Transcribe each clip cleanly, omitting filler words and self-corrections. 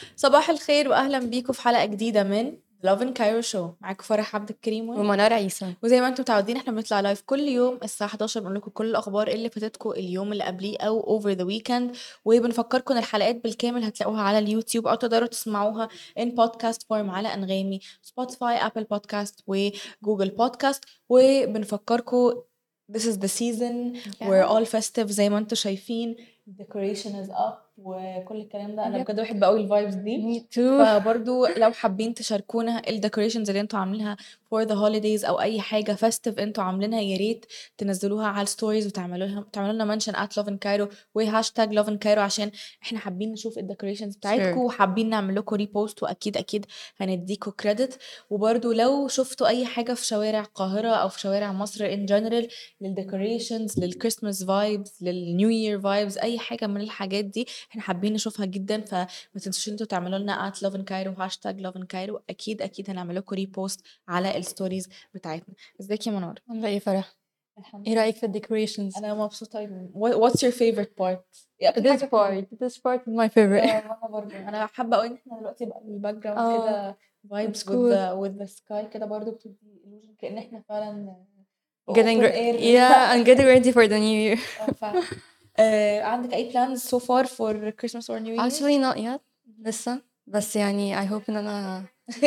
صباح الخير واهلا بيكم في حلقه جديده من لوفن كايرو شو. معاكم فرح عبد الكريم ومنار عيسى. وزي ما انتم متعودين احنا بنطلع لايف كل يوم الساعه 11 بنقول لكم كل الاخبار اللي فاتتكم اليوم اللي قبليه او اوفر ذا ويكند، وبنفكركم ان الحلقات بالكامل هتلاقوها على اليوتيوب او تقدروا تسمعوها ان بودكاست فورم على انغامي، سبوتيفاي، ابل بودكاست وجوجل بودكاست. وبنفكركم this is the season we're all festive زي ما انتم شايفين. decoration is up وكل الكلام ده. انا Yep. بجد بحب قوي الفايبز دي. Me too. فبرضو لو حابين تشاركونا الديكوريشنز اللي انتوا عاملينها for the holidays او اي حاجه festive انتوا عاملينها، يا ريت تنزلوها على الستوريز تعملوا لنا منشن at lovin cairo وهاشتاج lovin cairo عشان احنا حابين نشوف الديكوريشنز بتاعتكم Sure. وحابين نعمل لكم ريبوست، واكيد اكيد هنديكوا كريدت. وبرضو لو شفتوا اي حاجه في شوارع القاهره او في شوارع مصر in general للديكوريشنز للكريسماس فايبز للنيو يير فايبز، اي حاجه من الحاجات دي احنا حابين نشوفها جدا. فما تنسوش انتوا تعملوا لنا at lovin cairo هاشتاج lovin cairo، اكيد هنعمل لكم ريبوست على الستوريز بتاعتنا. ازيك يا منار؟ عاملة ايه فرح؟ الحمد ايه لله. رأيك في الديكوريشنز؟ انا مبسوطه أوي. What's your favorite part؟ ايه اكتر This حاجه part this part is my favorite. وانا برضه انا حابه قوي ان احنا دلوقتي بقى الباك جراوند اه كده vibes it's with cool. the sky كده، برضه بتدي illusion كأن احنا فعلا Getting open air. yeah, I'm getting ready for the new year. فعلا. عندك اي plans so far for Christmas or New Year's؟ Actually not yet. لسه بس يعني I hope ان انا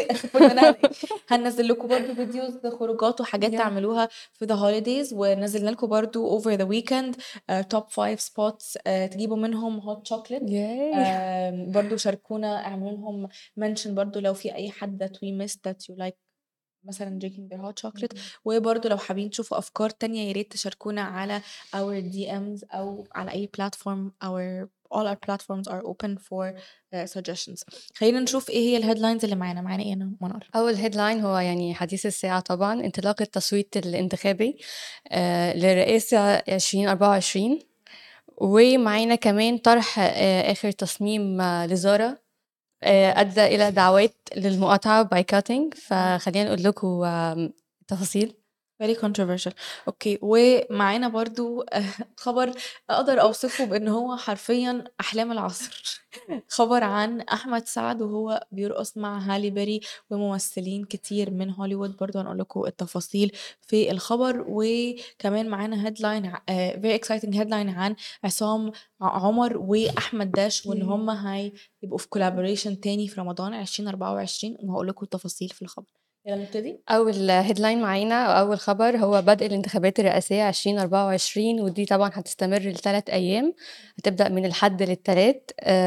هننزل لكم برضو فيديوز خروجات وحاجات yeah. تعملوها في the holidays، ونزلنا لكم برضو over the weekend top 5 spots تجيبوا منهم hot chocolate. Yay. برضو شاركونا، اعملوا لهم mention برضو لو في اي حد that we missed that you like مثلا drinking their hot chocolate. وبرضو لو حابين تشوفوا افكار تانية يا ريت تشاركونا على our DMs او على اي platform. all our platforms are open for suggestions. خلينا نشوف ايه هي الهيدلاينز اللي معانا ايه انا منار. أول هيدلاين هو يعني حديث الساعة طبعا انطلاق التصويت الانتخابي للرئاسة 2024. ومعانا كمان طرح آخر تصميم لزارا أدى إلى دعوات للمقاطعة بايكاتينج. فخلينا نقول لكم التفاصيل. very controversial. اوكي، ومعانا برضو خبر اقدر اوصفه بان هو حرفيا احلام العصر. خبر عن احمد سعد وهو بيرقص مع هالي بيري وممثلين كتير من هوليوود. برضو هنقول لكم التفاصيل في الخبر. وكمان معانا هيدلاين very exciting headline عن عصام عمر واحمد داش، وان هم هيبقوا في collaboration تاني في رمضان 2024، وهقول لكم التفاصيل في الخبر. يلا نبتدي. أول هيدلاين معانا أو أول خبر هو بدء الانتخابات الرئاسية 2024، ودي طبعا هتستمر ل3 أيام، هتبدأ من الحد للثلاث.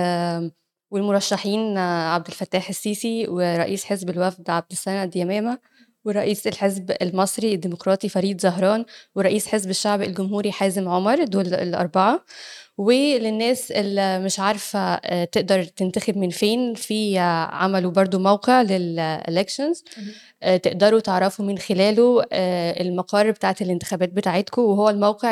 والمرشحين عبد الفتاح السيسي، ورئيس حزب الوفد عبد السند يمامة، ورئيس الحزب المصري الديمقراطي فريد زهران، ورئيس حزب الشعب الجمهوري حازم عمر. دول الأربعة. وللناس اللي مش عارفة تقدر تنتخب من فين، في عملوا برضو موقع للإلكشنز تقدروا تعرفوا من خلاله المقر بتاعت الانتخابات بتاعتكم، وهو الموقع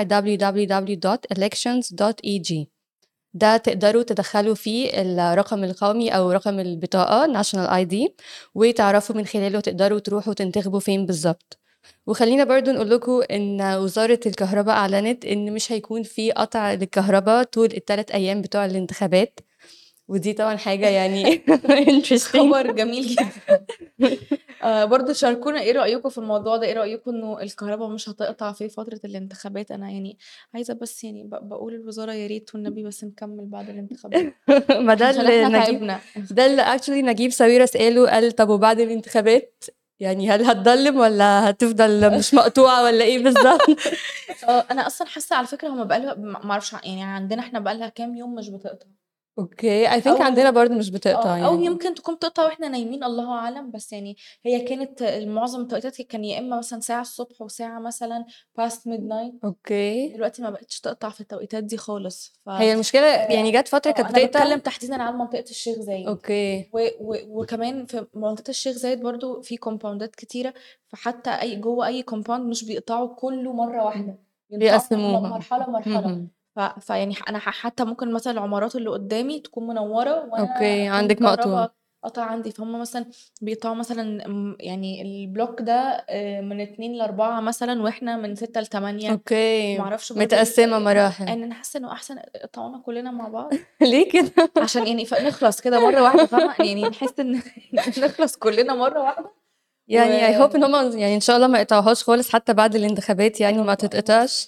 www.elections.eg. ده تقدروا تدخلوا فيه الرقم القومي أو رقم البطاقة national ID، وتعرفوا من خلاله تقدروا تروحوا تنتخبوا فين بالظبط. وخلينا برضو نقول لكم ان وزارة الكهرباء اعلنت ان مش هيكون في قطع للكهرباء طول ال3 ايام بتوع الانتخابات، ودي طبعا حاجة يعني interesting. خبر جميل جدا. برضو شاركونا ايه رأيكم في الموضوع ده، ايه رأيكم انه الكهرباء مش هتقطع في فترة الانتخابات؟ انا يعني عايزة بس يعني بقول الوزارة يا ريت والنبي بس نكمل بعد الانتخابات ما ده عشان اللي احنا نجيب، تعبنا. ده اللي actually نجيب ساويرس قال طب وبعد الانتخابات يعني هل هتضلم ولا هتفضل مش مقطوعة ولا ايه بالظبط؟ انا اصلا حاسة على فكرة هما بقالها ما اعرفش يعني عندنا احنا بقالها كام يوم مش بتقطع. اوكي I think عندنا او برضو مش بتقطع او يعني. يمكن تكون تقطع واحنا نايمين، الله اعلم. بس يعني هي كانت معظم التوقيتات كان يا اما مثلا ساعة الصبح وساعة مثلا past midnight. اوكي دلوقتي ما بقتش تقطع في التوقيتات دي خالص. هي المشكلة يعني جت فترة كانت انا بتقطع. بتكلم تحديدا عن منطقة الشيخ زايد. اوكي وكمان في منطقة الشيخ زايد برضو في كومباوندات كتيرة، فحتى اي جوه اي كومباوند مش بيقطعوا كله مرة واحدة، بيقطعوا بيقسموها. مرحلة مرحلة. مهم. فيعني انا حتى ممكن مثلا العمارات اللي قدامي تكون منورة وانا اوكي اكون عندك مقطوع. الكهرباء قطع عندي، فهم مثلا بيقطعوا مثلا يعني البلوك ده من 2 ل4 مثلا، واحنا من 6 ل8. اوكي، معرفش برضو متقسمة مراحل. ان انا حاسه انه احسن يقطعونا كلنا مع بعض، ليه كده؟ عشان يعني نخلص كده مره واحده، فاهمه؟ يعني نحس ان نخلص كلنا مره واحده. و يعني I hope ان هم يعني ان شاء الله ما يقطعوهاش خالص حتى بعد الانتخابات، يعني يا ما رب انا تتقطعش.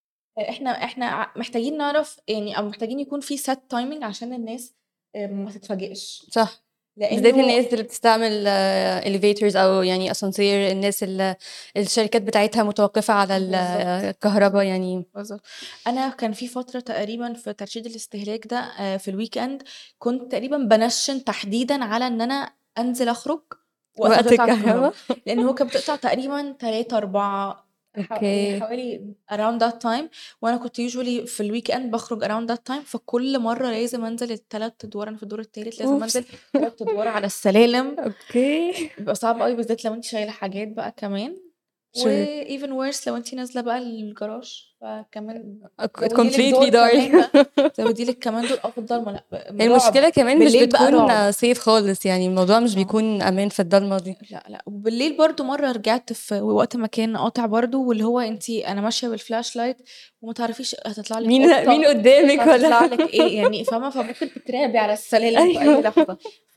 احنا محتاجين نعرف يعني، او محتاجين يكون في set timing عشان الناس ما تتفاجئش، صح، بالذات لانه الناس اللي بتستعمل elevators او يعني اسانسير، الناس اللي الشركات بتاعتها متوقفة على بالظبط الكهرباء يعني. بالظبط. انا كان في فتره تقريبا في ترشيد الاستهلاك ده في الويك اند، كنت تقريبا بنشن تحديدا على ان انا انزل اخرج وقت وقت بتقطع الكهرباء، الكهرباء. لان هو كانت بتقطع تقريبا 3 4 يعني اوكي. حوالي around that time. وانا كنت usually في الويك اند بخرج around that time، فكل مره لازم انزل ال3 ادوار، انا في الدور التالت لازم اوبس. انزل 3 ادوار على السلالم. اوكي. بيبقى صعب قوي بالذات لو انت شايله حاجات بقى كمان، و sure. even worse لو انت نازله بقى الجراج، فكمان زودي لك completely دور dark. كمان بقى، زودي لك كمان دور في الضلمه، لا رعب المشكلة كمان مش بالليل بقى، رعب. بتكون safe خالص، يعني الموضوع مش اه بيكون امان في الضلمة دي. لا لا، وبالليل برضو مرة رجعت في وقت ما كان قاطع برضو، واللي هو انتي انا ماشية بالفلاش لايت وما تعرفيش هتطلع لك مين قطة، قدامك هتطلع ولا؟ لك ايه يعني، فاهمة؟ فممكن تترعبي على السلالم في اي ايوه. لحظة. ف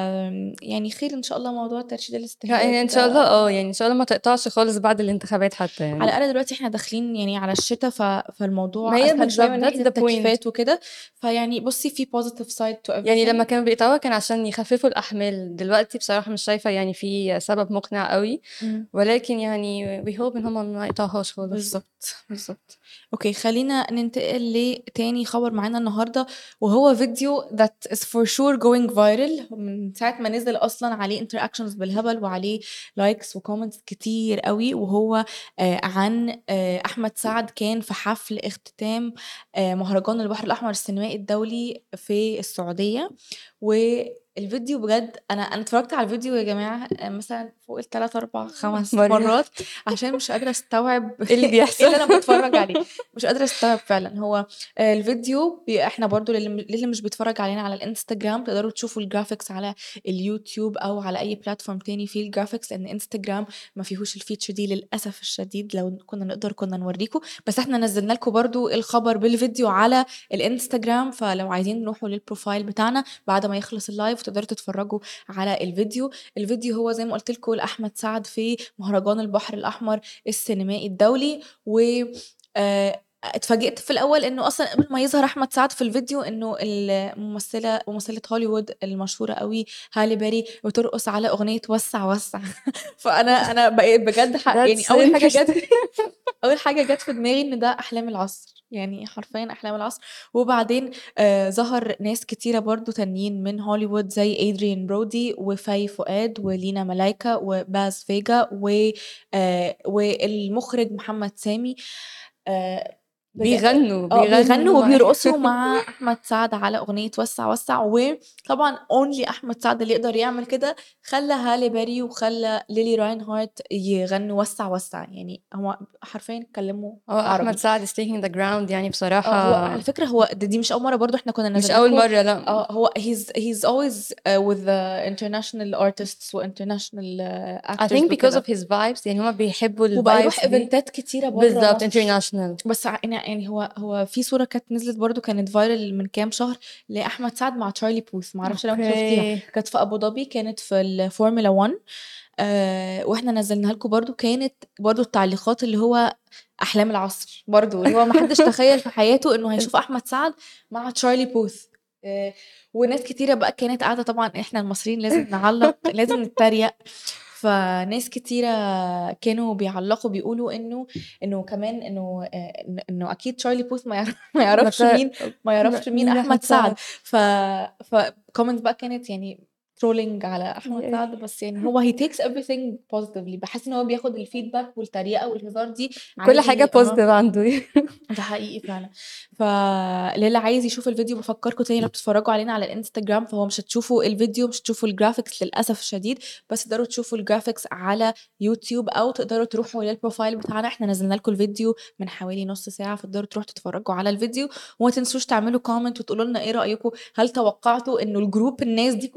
يعني خير ان شاء الله موضوع ترشيد الاستهلاك يعني ان شاء الله ده. يعني ان شاء الله ما تقطعش خالص بعد الانتخابات حتى على يعني. الأقل دلوقتي احنا داخلين يعني على الشتاء، ما فالموضوع هي أسهل شوية بالظبط من that's ناحية the point. التكييفات وكده. فيعني بصي في positive side to يعني لما everything. كانوا بيقطعوها كان عشان يخففوا الأحمال، دلوقتي بصراحة مش شايفة يعني في سبب مقنع قوي، مم. ولكن يعني we hope ان هما ما يقطعوهاش خالص. بالظبط بالظبط. اوكي خلينا ننتقل لتاني خبر معانا النهارده، وهو فيديو that is for sure going viral من ساعة ما نزل أصلا، عليه interactions بالهبل وعليه لايكس وكومنتس كتير قوي، وهو عن أحمد سعد كان في حفل اختتام مهرجان البحر الأحمر السينمائي الدولي في السعودية. والفيديو بجد انا اتفرجت على الفيديو يا جماعه مثلا فوق ال3 4 5 مرة. مرات، عشان مش قادره استوعب ايه اللي ايه بيحصل؟ اللي انا بتفرج عليه. مش قادره استوعب فعلا. هو الفيديو احنا برضو للي مش بيتفرج علينا على الانستجرام، تقدروا تشوفوا الجرافيكس على اليوتيوب او على اي بلاتفورم تاني فيه الجرافيكس، لان انستجرام ما فيهوش الفيتشر دي للاسف الشديد. لو كنا نقدر كنا نوريكم، بس احنا نزلنا لكم برضو الخبر بالفيديو على الانستجرام، فلو عايزين نروحوا للبروفايل بتاعنا بعد ما يخلص اللايف تقدروا تتفرجوا على الفيديو. الفيديو هو زي ما قلت لكم لأحمد سعد في مهرجان البحر الأحمر السينمائي الدولي. و اتفاجئت في الاول انه اصلا قبل ما يظهر احمد سعد في الفيديو انه ممثله هوليوود المشهوره قوي هالي بيري بترقص على اغنيه وسع وسع. فانا بقيت بجد يعني that's interesting. اول حاجه جت في دماغي ان ده احلام العصر، يعني حرفيا احلام العصر. وبعدين ظهر ناس كتيره برضو تانيين من هوليوود زي ادريان برودي وفاي فؤاد ولينا ملايكا وباز فيجا والمخرج محمد سامي. آه بجد بيغنوا بيغنوا معايا. وبيرقصوا مع احمد سعد على اغنيه وسع وسع. وطبعا اونلي احمد سعد اللي يقدر يعمل كده، خلى هالي بيري وخلى ليلي راين هارت يغنوا وسع وسع، يعني هو حرفيا اتكلموا هو احمد عربي. سعد is taking the ground يعني هو بصراحة. على فكرة هو دي مش أول مرة، برضو احنا كنا مش نزلنا اول لكم. مرة، لا. هو he's always with the international artists و international I actors think because of وكده، his vibes، يعني هما بيحبوا وبقى يروح الفايبس دي. ايفنتات كتيرة بره بالظبط مصر. international. بس يعني هو في صورة كانت نزلت برضو كانت فايرل من كام شهر لأحمد سعد مع تشارلي بوث، معرفش لو انت شفتيها، اوكي. كانت في أبو ظبي، كانت في الفورمولا 1. واحنا نزلناها لكم برضو، كانت برضو التعليقات اللي هو احلام العصر برضو، اللي هو ما حدش تخيل في حياته انه هيشوف احمد سعد مع تشارلي بوث. وناس كتيرة بقى كانت قاعدة، طبعا احنا المصريين لازم نعلق لازم نتريق. فناس كتيرة كانوا بيعلقوا بيقولوا انه كمان انه اكيد تشارلي بوث ما يعرفش مت... مين مين احمد احمد سعد. سعد؟ ف كومنت بقى كانت يعني ترولينج على احمد سعد، بس يعني هو he takes everything positively. بحس ان هو بياخد الفيدباك والتريقه والهزار دي كل حاجة عادي. positive عنده. ده حقيقي فعلا. فاللي عايز يشوف الفيديو بفكركم تاني لو بتتفرجوا علينا على الانستجرام، فهو مش هتشوفوا الفيديو، مش هتشوفوا الجرافيكس للاسف الشديد، بس تقدروا تشوفوا الجرافيكس على يوتيوب، او تقدروا تروحوا للبروفايل بتاعنا، احنا نزلنا لكم الفيديو من حوالي نص ساعه، فتقدروا تروحوا تتفرجوا على الفيديو. وما تنسوش تعملوا كومنت وتقولوا لنا ايه رايكم، هل توقعتوا انه الجروب الناس دي كلها تكون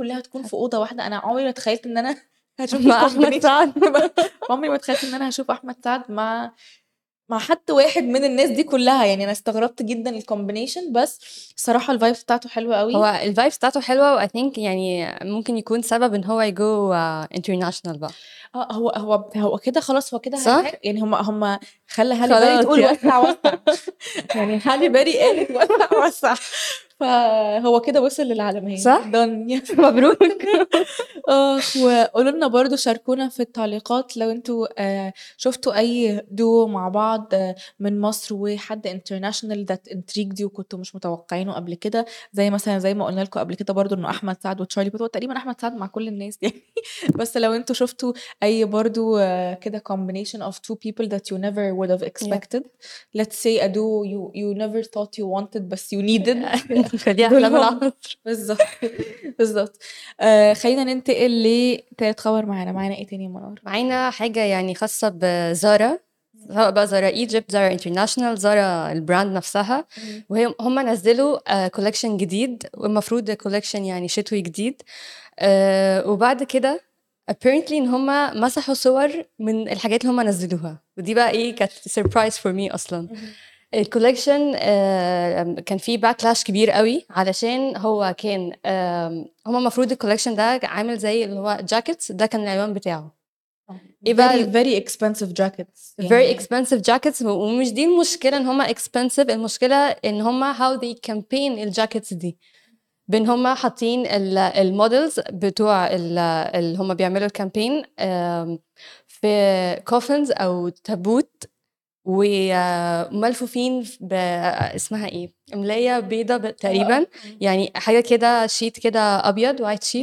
في أوضة واحدة، أنا عمري ما تخيلت إن أنا هاشوف مع أحمد الcombination سعد. عمري ما تخيلت إن أنا هاشوف أحمد سعد مع حد واحد من الناس دي كلها، يعني أنا استغربت جدًا الcombination، بس الصراحة الvibes بتاعته حلوة هو أوي. الvibes بتاعته حلوة، وI think يعني ممكن يكون سبب إن هو يgo international بقى، هو كده خلاص، هو كده صح؟ يعني هم خلّى هالي بيري خلاص تقول يعني. وسّع، وسّع. يعني هالي بيري قالت وسّع، وسّع. فهو كده وصل للعالمية صح؟ done yes. مبروك. وقولوا لنا برضه، شاركونا في التعليقات لو أنتم شُفتوا أي duo مع بعض من مصر وحد international that intrigued you وكنتم مش متوقعينه قبل كده، زي ما قُلنا لكم قبل كده برضه إنه أحمد سعد وتشارلي بوت، هو تقريبًا أحمد سعد مع كل الناس يعني. بس لو أنتم شُفتوا أي برضه كده combination of two people that you never would have Yep. expected. Let's say a duo you never thought you wanted بس you needed. نخلّيها دول أحلام هم. العصر. بالضبط. بالضبط. خلّينا ننتقل لتالت خبر معانا إيه تاني يا منار؟ معانا حاجة يعني خاصة بZara، سواء بقى Zara Egypt، Zara International، Zara الbrand نفسها، هم نزّلوا collection جديد، والمفروض collection يعني شتوي جديد. وبعد كده apparently إن هم مسحوا صور من الحاجات اللي هم نزّلوها، ودي بقى إيه كانت surprise for me أصلًا. الcollection كان فيه backlash كبير أوي، علشان هو كان هم المفروض الcollection ده عامل زي اللي هو jackets، ده كان العنوان بتاعه. إيه very بقى very expensive jackets very يعني. expensive jackets، ومش دي المشكلة إن هم expensive، المشكلة إن هم how they campaign الjackets دي، بإن هم حاطين المودلز بتوع اللي هم بيعملوا الكامبين في coffins أو تابوت، وملفوفين اسمها إيه، ملاية بيضة تقريبا، يعني حاجة كده شيت كده أبيض white sheet.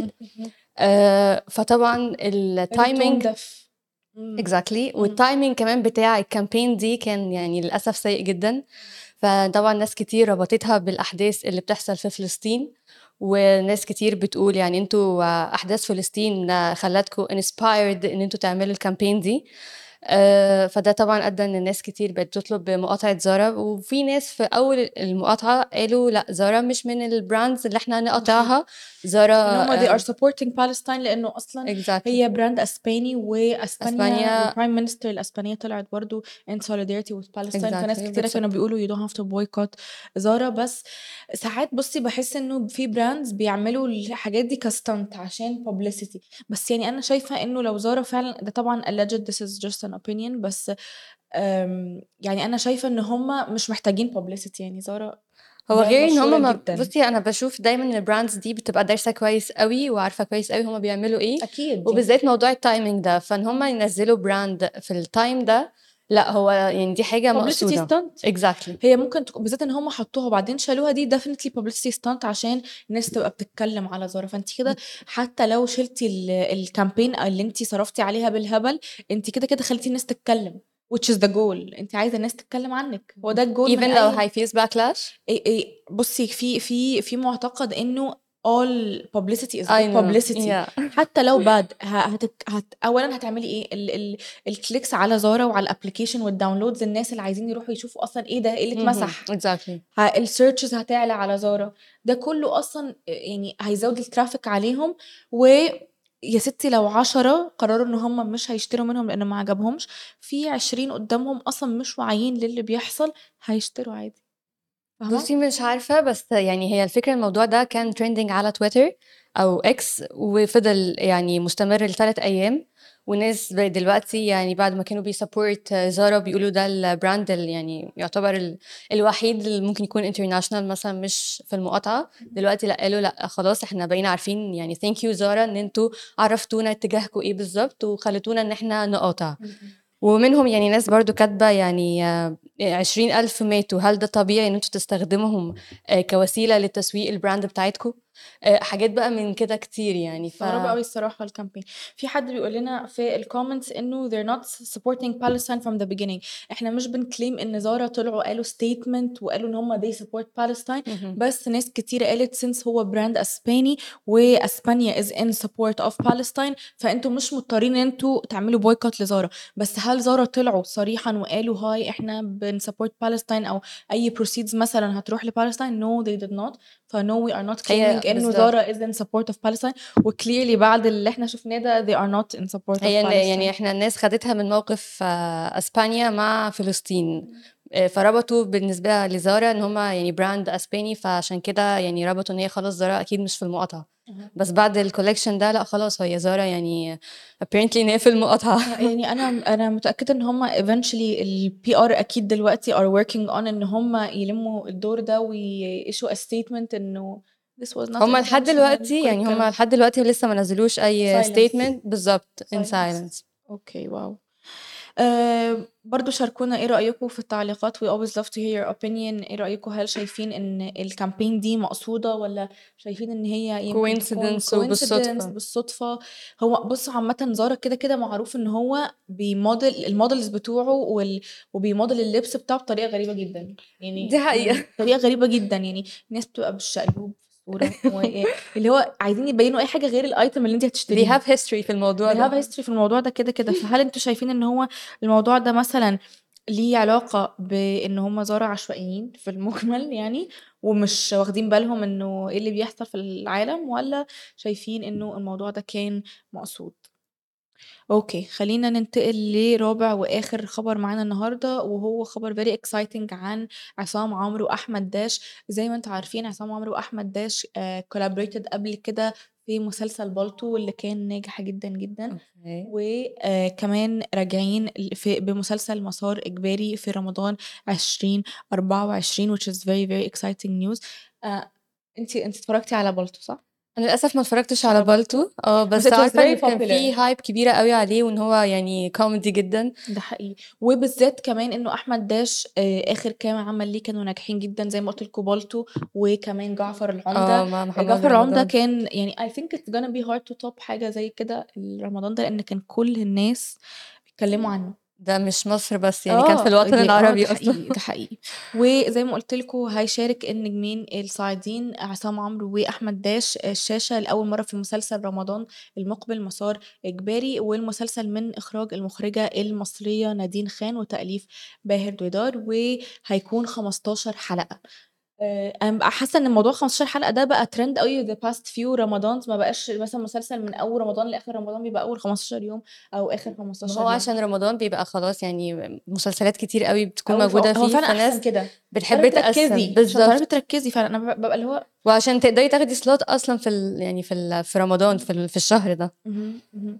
فطبعا very tone التايمينج deaf. exactly، والتايمينج كمان بتاع الكامبين دي كان يعني للأسف سيء جدا. فطبعا ناس كتير ربطتها بالأحداث اللي بتحصل في فلسطين، وناس كتير بتقول يعني انتوا أحداث فلسطين خلتكم inspired ان انتوا تعملوا الكامبين دي. فده طبعا أدى ان الناس كتير بقت تطلب مقاطعة زارا، وفي ناس في أول المقاطعة قالوا لا زارا مش من البراندز اللي احنا نقاطعها. إن زارا هم they are supporting Palestine لإنه أصلًا exactly هي براند أسباني، وأسبانيا أسبانيا الprime minister الأسبانية طلعت برضه in solidarity with Palestine، فناس exactly كتيرة كانوا بيقولوا you don't have to boycott Zara. بس ساعات بُصّي باحس إنه في brands بيعملوا الحاجات دي كstunt عشان publicity، بس يعني أنا شايفة إنه لو Zara فعلًا، ده طبعًا alleged this is just an opinion، بس يعني أنا شايفة إن هم مش محتاجين publicity، يعني Zara هو brand غير ان مشهورة هم جدًا. بصي انا بشوف دايما ان البراندز دي بتبقى دارسه كويس قوي وعارفه كويس قوي هم بيعملوا ايه، أكيد يعني. وبالذات موضوع التايمينج ده، فان هم ينزلوا براند في التايم ده، لا هو يعني دي حاجه publicity مقصوده. stunt. exactly هي ممكن بالذات إن هم حطوها وبعدين شالوها، دي definitely publicity stunt عشان الناس تبقى بتتكلم على زارا، فأنتِ كده حتى لو شِلتِ الcampaign اللي أنتِ صرفتِ عليها بالهبل، أنتِ كده خلّيتِ الناس تتكلم which is the goal، أنتِ عايزة الناس تتكلم عنِك، هو ده الgoal even من لو أي. هيفيز باكلاش. بُصّي، في مُعتقد إنه all publicity is I good know publicity، yeah حتى لو bad أولًا هتعملي إيه، الclicks على زارا وعلى الapplication والdownloads، الناس اللي عايزين يروحوا يشوفوا أصلًا إيه ده، إيه اللي اتمسح، exactly الsearches هتعلى على زارا، ده كلّه أصلًا يعني هيزوّد الtraffic عليهم. ويا ستي لو 10 قرروا إن هُم مش هيشتروا منهم لإن ما عجبهمش، في 20 قدّامهم أصلًا مش واعيين للي بيحصل، هيشتروا عادي، فاهمة؟ بُصّي مش عارفة، بس يعني هي الفكرة الموضوع ده كان trending على تويتر أو X، وفضل يعني مستمر ل3 أيام، والناس دلوقتي يعني بعد ما كانوا بيsupport زارا بيقولوا ده الbrand يعني يعتبر الوحيد اللي ممكن يكون international مثلًا مش في المقاطعة، دلوقتي لأ قالوا لأ خلاص إحنا بقينا عارفين يعني thank you زارا إن أنتم عرّفتونا اتجاهكم إيه بالضبط، وخلّيتونا إن إحنا نقاطع. ومنهم يعني ناس برضه كاتبة يعني 20,000 ماتوا، هل ده طبيعي إن أنتم تستخدموهم كوسيلة لتسويق الbrand بتاعتكم؟ حاجات بقى من كده كتير يعني. مستغربة أوي الصراحة الcampaign. في حد بيقول لنا في الcomments إنه they're not supporting Palestine from the beginning. إحنا مش بنclaim إن زارا طلعوا قالوا statement وقالوا إن هم they support Palestine، اهم. بس ناس كتيرة قالت since هو brand أسباني وأسبانيا is in support of Palestine، فأنتم مش مضطرين إن أنتم تعملوا boycott لزارا. بس هل زارا طلعوا صريحًا وقالوا هاي إحنا بنsupport Palestine أو أي proceeds مثلًا هتروح لPalestine؟ No they did not. فno we are not هي claiming إنه بالظبط زارا is in support of Palestine وclearly بعد اللي احنا شفناه ده they are not in support of هي يعني Palestine. احنا الناس خدتها من موقف اسبانيا مع فلسطين. فربطوا بالنسبة لزارا ان هما يعني براند اسباني، فعشان كده يعني ربطوا ان هي خلاص زارا اكيد مش في المقاطعة. بس بعد الكوليكشن ده لا خلاص هي زارا يعني apparently ان هي في المقاطعة. يعني أنا متأكدة إن هما eventually ال PR أكيد دلوقتي are working on إن هما يلموا الدور ده ويissue a statement إنه this was not هما لحد intentional دلوقتي كل يعني الكلام هما ده. لحد دلوقتي لسه ما نزلوش اي silence statement بالظبط in silence. silence. اوكي واو. برضو شاركونا ايه رأيكم في التعليقات. we always love to hear your opinion. ايه رأيكم، هل شايفين ان الكامبين دي مقصودة ولا شايفين ان هي يمكن تكون coincidence coincidence وبالصدفة. بالصدفة؟ هو بص عامة زارا كده كده معروف ان هو بيموديل المودلز بتوعه وبيموديل اللبس بتاعه بطريقة غريبة جدا يعني دي حقيقة. طريقة غريبة جدا يعني الناس بتبقى بالشقلوب في الصورة اللي هو عايزين يبينوا اي حاجة غير الايتم اللي انت they هتشتريها. have history في الموضوع they have ده. history في الموضوع ده كده كده. فهل انتوا شايفين ان هو الموضوع ده مثلا ليه علاقة بان هم زارع عشوائيين في المجمل يعني ومش واخدين بالهم انه ايه اللي بيحصل في العالم، ولا شايفين انه الموضوع ده كان مقصود؟ اوكي خلينا ننتقل لرابع واخر خبر معانا النهارده، وهو خبر very exciting عن عصام عمرو واحمد داش. زي ما انتوا عارفين عصام عمرو واحمد داش collaborated قبل كده في مسلسل بالطو اللي كان ناجح جدا جدا، اوكي. وكمان راجعين بمسلسل مسار إجباري في رمضان 2024 which is very very exciting news. انتي اتفرجتي على بالطو صح؟ انا للاسف ما اتفرجتش على على بالطو، بالطو بس بس it was عارفه ان very كان في popular. هايب كبيره قوي عليه وان هو يعني كوميدي جدا. ده حقيقي، وبالذات كمان انه احمد داش اخر كام عمل ليه كانوا ناجحين جدا زي ما قلت لكم بالطو، وكمان جعفر العمدة. مع محمد جعفر العمدة رمضان. كان يعني I think it's gonna be hard to top حاجة زي كده رمضان ده لان كان كل الناس بيتكلموا عنه. ده مش مصر بس يعني كان في الوطن ده العربي اصلا. حقيقي ده حقيقي. وزي ما قلت لكم هيشارك النجمين الصاعدين عصام عمرو واحمد داش الشاشه لاول مره في مسلسل رمضان المقبل مسار اجباري، والمسلسل من اخراج المخرجه المصريه نادين خان وتاليف باهر دويدار، وهيكون 15 حلقه. انا بقى حاسه ان الموضوع 15 حلقه ده بقى ترند قوي the past few رمضانز. ما بقاش مثلا مسلسل من اول رمضان لاخر رمضان بيبقى اول 15 يوم او اخر ما 15 هو يوم. عشان رمضان بيبقى خلاص يعني مسلسلات كتير قوي بتكون أوي موجوده هو فيه، فعلًا أحسن فناس كده، بتحب تعرفي تقسم تركّزي، عشان تعرفي بالظبط. تركّزي فعلًا. أنا بابقى اللي هو وعشان تقدري تاخدي سلوت اصلا في يعني في رمضان في الشهر ده. اهم.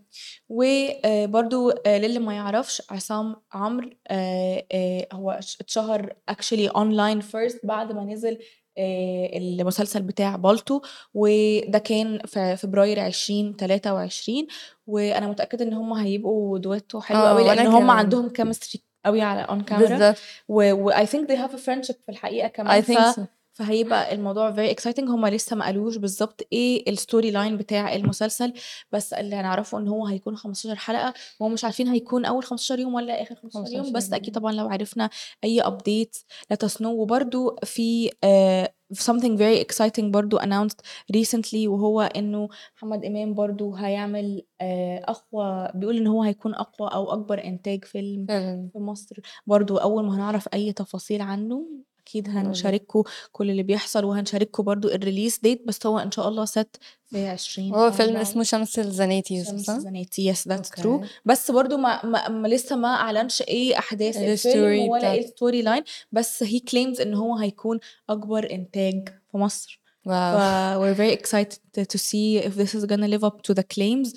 وبرضه للي ما يعرفش عصام عمرو هو اتشهر actually online first بعد ما نزل المسلسل بتاع بالطو، وده كان في فبراير 2023. وأنا متأكدة إن هم هيبقوا duetto حلو أوي وانا لإن هم كمان عندهم chemistry أوي على on camera بالظبط. I think they have a friendship في الحقيقة I كمان. think so. فهيبقى الموضوع very exciting. هم لسه ما قالوش بالضبط إيه الstory line بتاع المسلسل، بس اللي هنعرفه إن هو هيكون 15 حلقة، وهم مش عارفين هيكون أول 15 يوم والّا آخر 15 يوم، 15 بس أكيد يوم. طبعًا لو عرفنا أي updates let us know. وبرضه في something very exciting برضه announced recently، وهو إنه محمد إمام برضه هيعمل بيقول إن هو هيكون أقوى أو أكبر إنتاج فيلم فعلا. في مصر. برضه أول ما هنعرف أي تفاصيل عنه أكيد هنقول هنشارككم كل اللي بيحصل، وهنشارككم برضه الrelease date، بس هو إن شاء الله set في هو فيلم 2024. اسمه شمس الزناتي شمس صح؟ الزناتي yes that's true. اوكي. بس برضه لسه ما أعلنش إيه أحداث الفيلم الستوري ولا بتاعت. إيه الstory line، بس he claims إن هو هيكون أكبر إنتاج في مصر. واو. we're very excited to see if this is gonna live up to the claims.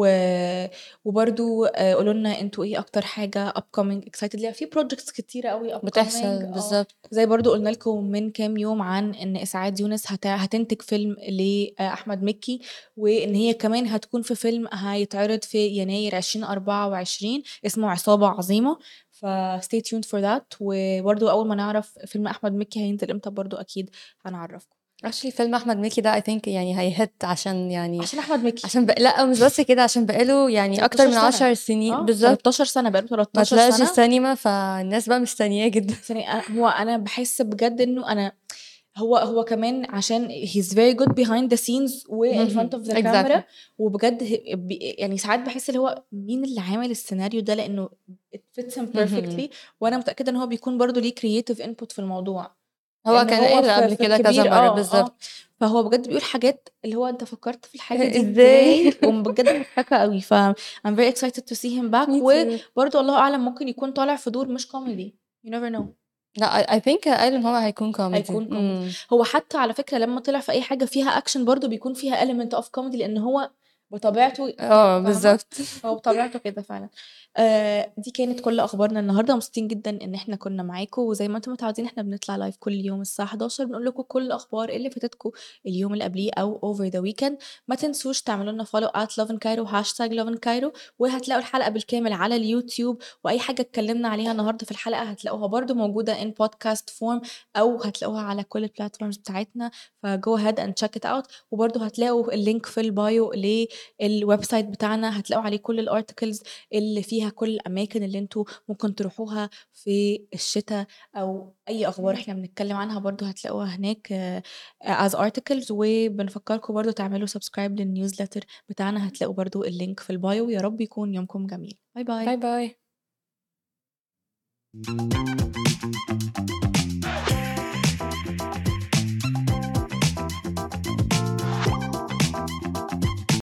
وبرضو قولوا لنا انتوا ايه اكتر حاجة upcoming excited ليها في projects كتيرة قوي upcoming. بتحصل بالظبط. زي برضو قلنا لكم من كام يوم عن ان اسعاد يونس هتنتج فيلم لأحمد مكي، وان هي كمان هتكون في فيلم هيتعرض في يناير 2024 اسمه عصابة عظيمة. ف stay tuned for that. وبرضو اول ما نعرف فيلم احمد مكي هينزل امتى برضو اكيد هنعرفكم. actually فيلم احمد مكي ده I think يعني هيهت عشان يعني عشان احمد مكي لا مش بس كده، عشان بقاله يعني اكتر 13 من سنة 10 سنين بالظبط 13 سنة بقاله ما 13 طلعش سنة. السينما، فالناس بقى مستنياه جدا. هو أنا بحس بجد إنه هو كمان عشان he's very good behind the scenes و in front of the exactly. camera. وبجد يعني ساعات بحس اللي هو مين اللي عامل السيناريو ده لأنه it fits him perfectly. وأنا متأكدة إن هو بيكون برضو ليه creative input في الموضوع. هو إن كان هو قال قبل في كده كذا الكبير مرّة، بالضبط. فهو بجد بيقول حاجات اللي هو أنت فكّرت في الحاجة دي إزاي؟ إزاي؟ بجد مضحكة أوي، I'm very excited to see him back me too. وبرضه الله أعلم ممكن يكون طالع في دور مش comedy you never know. لأ I think قال إن هو هيكون كوميدي. هيكون كوميدي. هو حتى على فكرة لمّا طلع في أي حاجة فيها أكشن برضه بيكون فيها element of comedy لإن هو بطبيعته كده، فاهمة؟ بالضبط. هو بطبيعته كده فعلًا. دي كانت كل أخبارنا النهارده، مبسوطين جدًا إن إحنا كنا معاكم، وزي ما أنتم متعودين إحنا بنطلع live كل يوم الساعة 11:00 بنقول لكم كل الأخبار اللي فاتتكم اليوم اللي قبليه أو over the weekend. ما تنسوش تعملوا لنا follow @loveandcairo #loveandcairo وهتلاقوا الحلقة بالكامل على اليوتيوب، وأي حاجة اتكلمنا عليها النهارده في الحلقة هتلاقوها برضه موجودة in podcast form أو هتلاقوها على كل الplatforms بتاعتنا، فgo ahead and check it out. وبرضه هتلاقوا الlink في الbio للweb site بتاعنا، هتلاقوا عليه كل الarticles اللي فيها كل الأماكن اللي أنتم ممكن تروحوها في الشتا أو أي أخبار إحنا بنتكلم عنها برضه هتلاقوها هناك as articles. وبنفكركم برضه تعملوا subscribe للnewsletter بتاعنا، هتلاقوا برضه الlink في الbio. ويا رب يكون يومكم جميل. باي باي، باي. باي.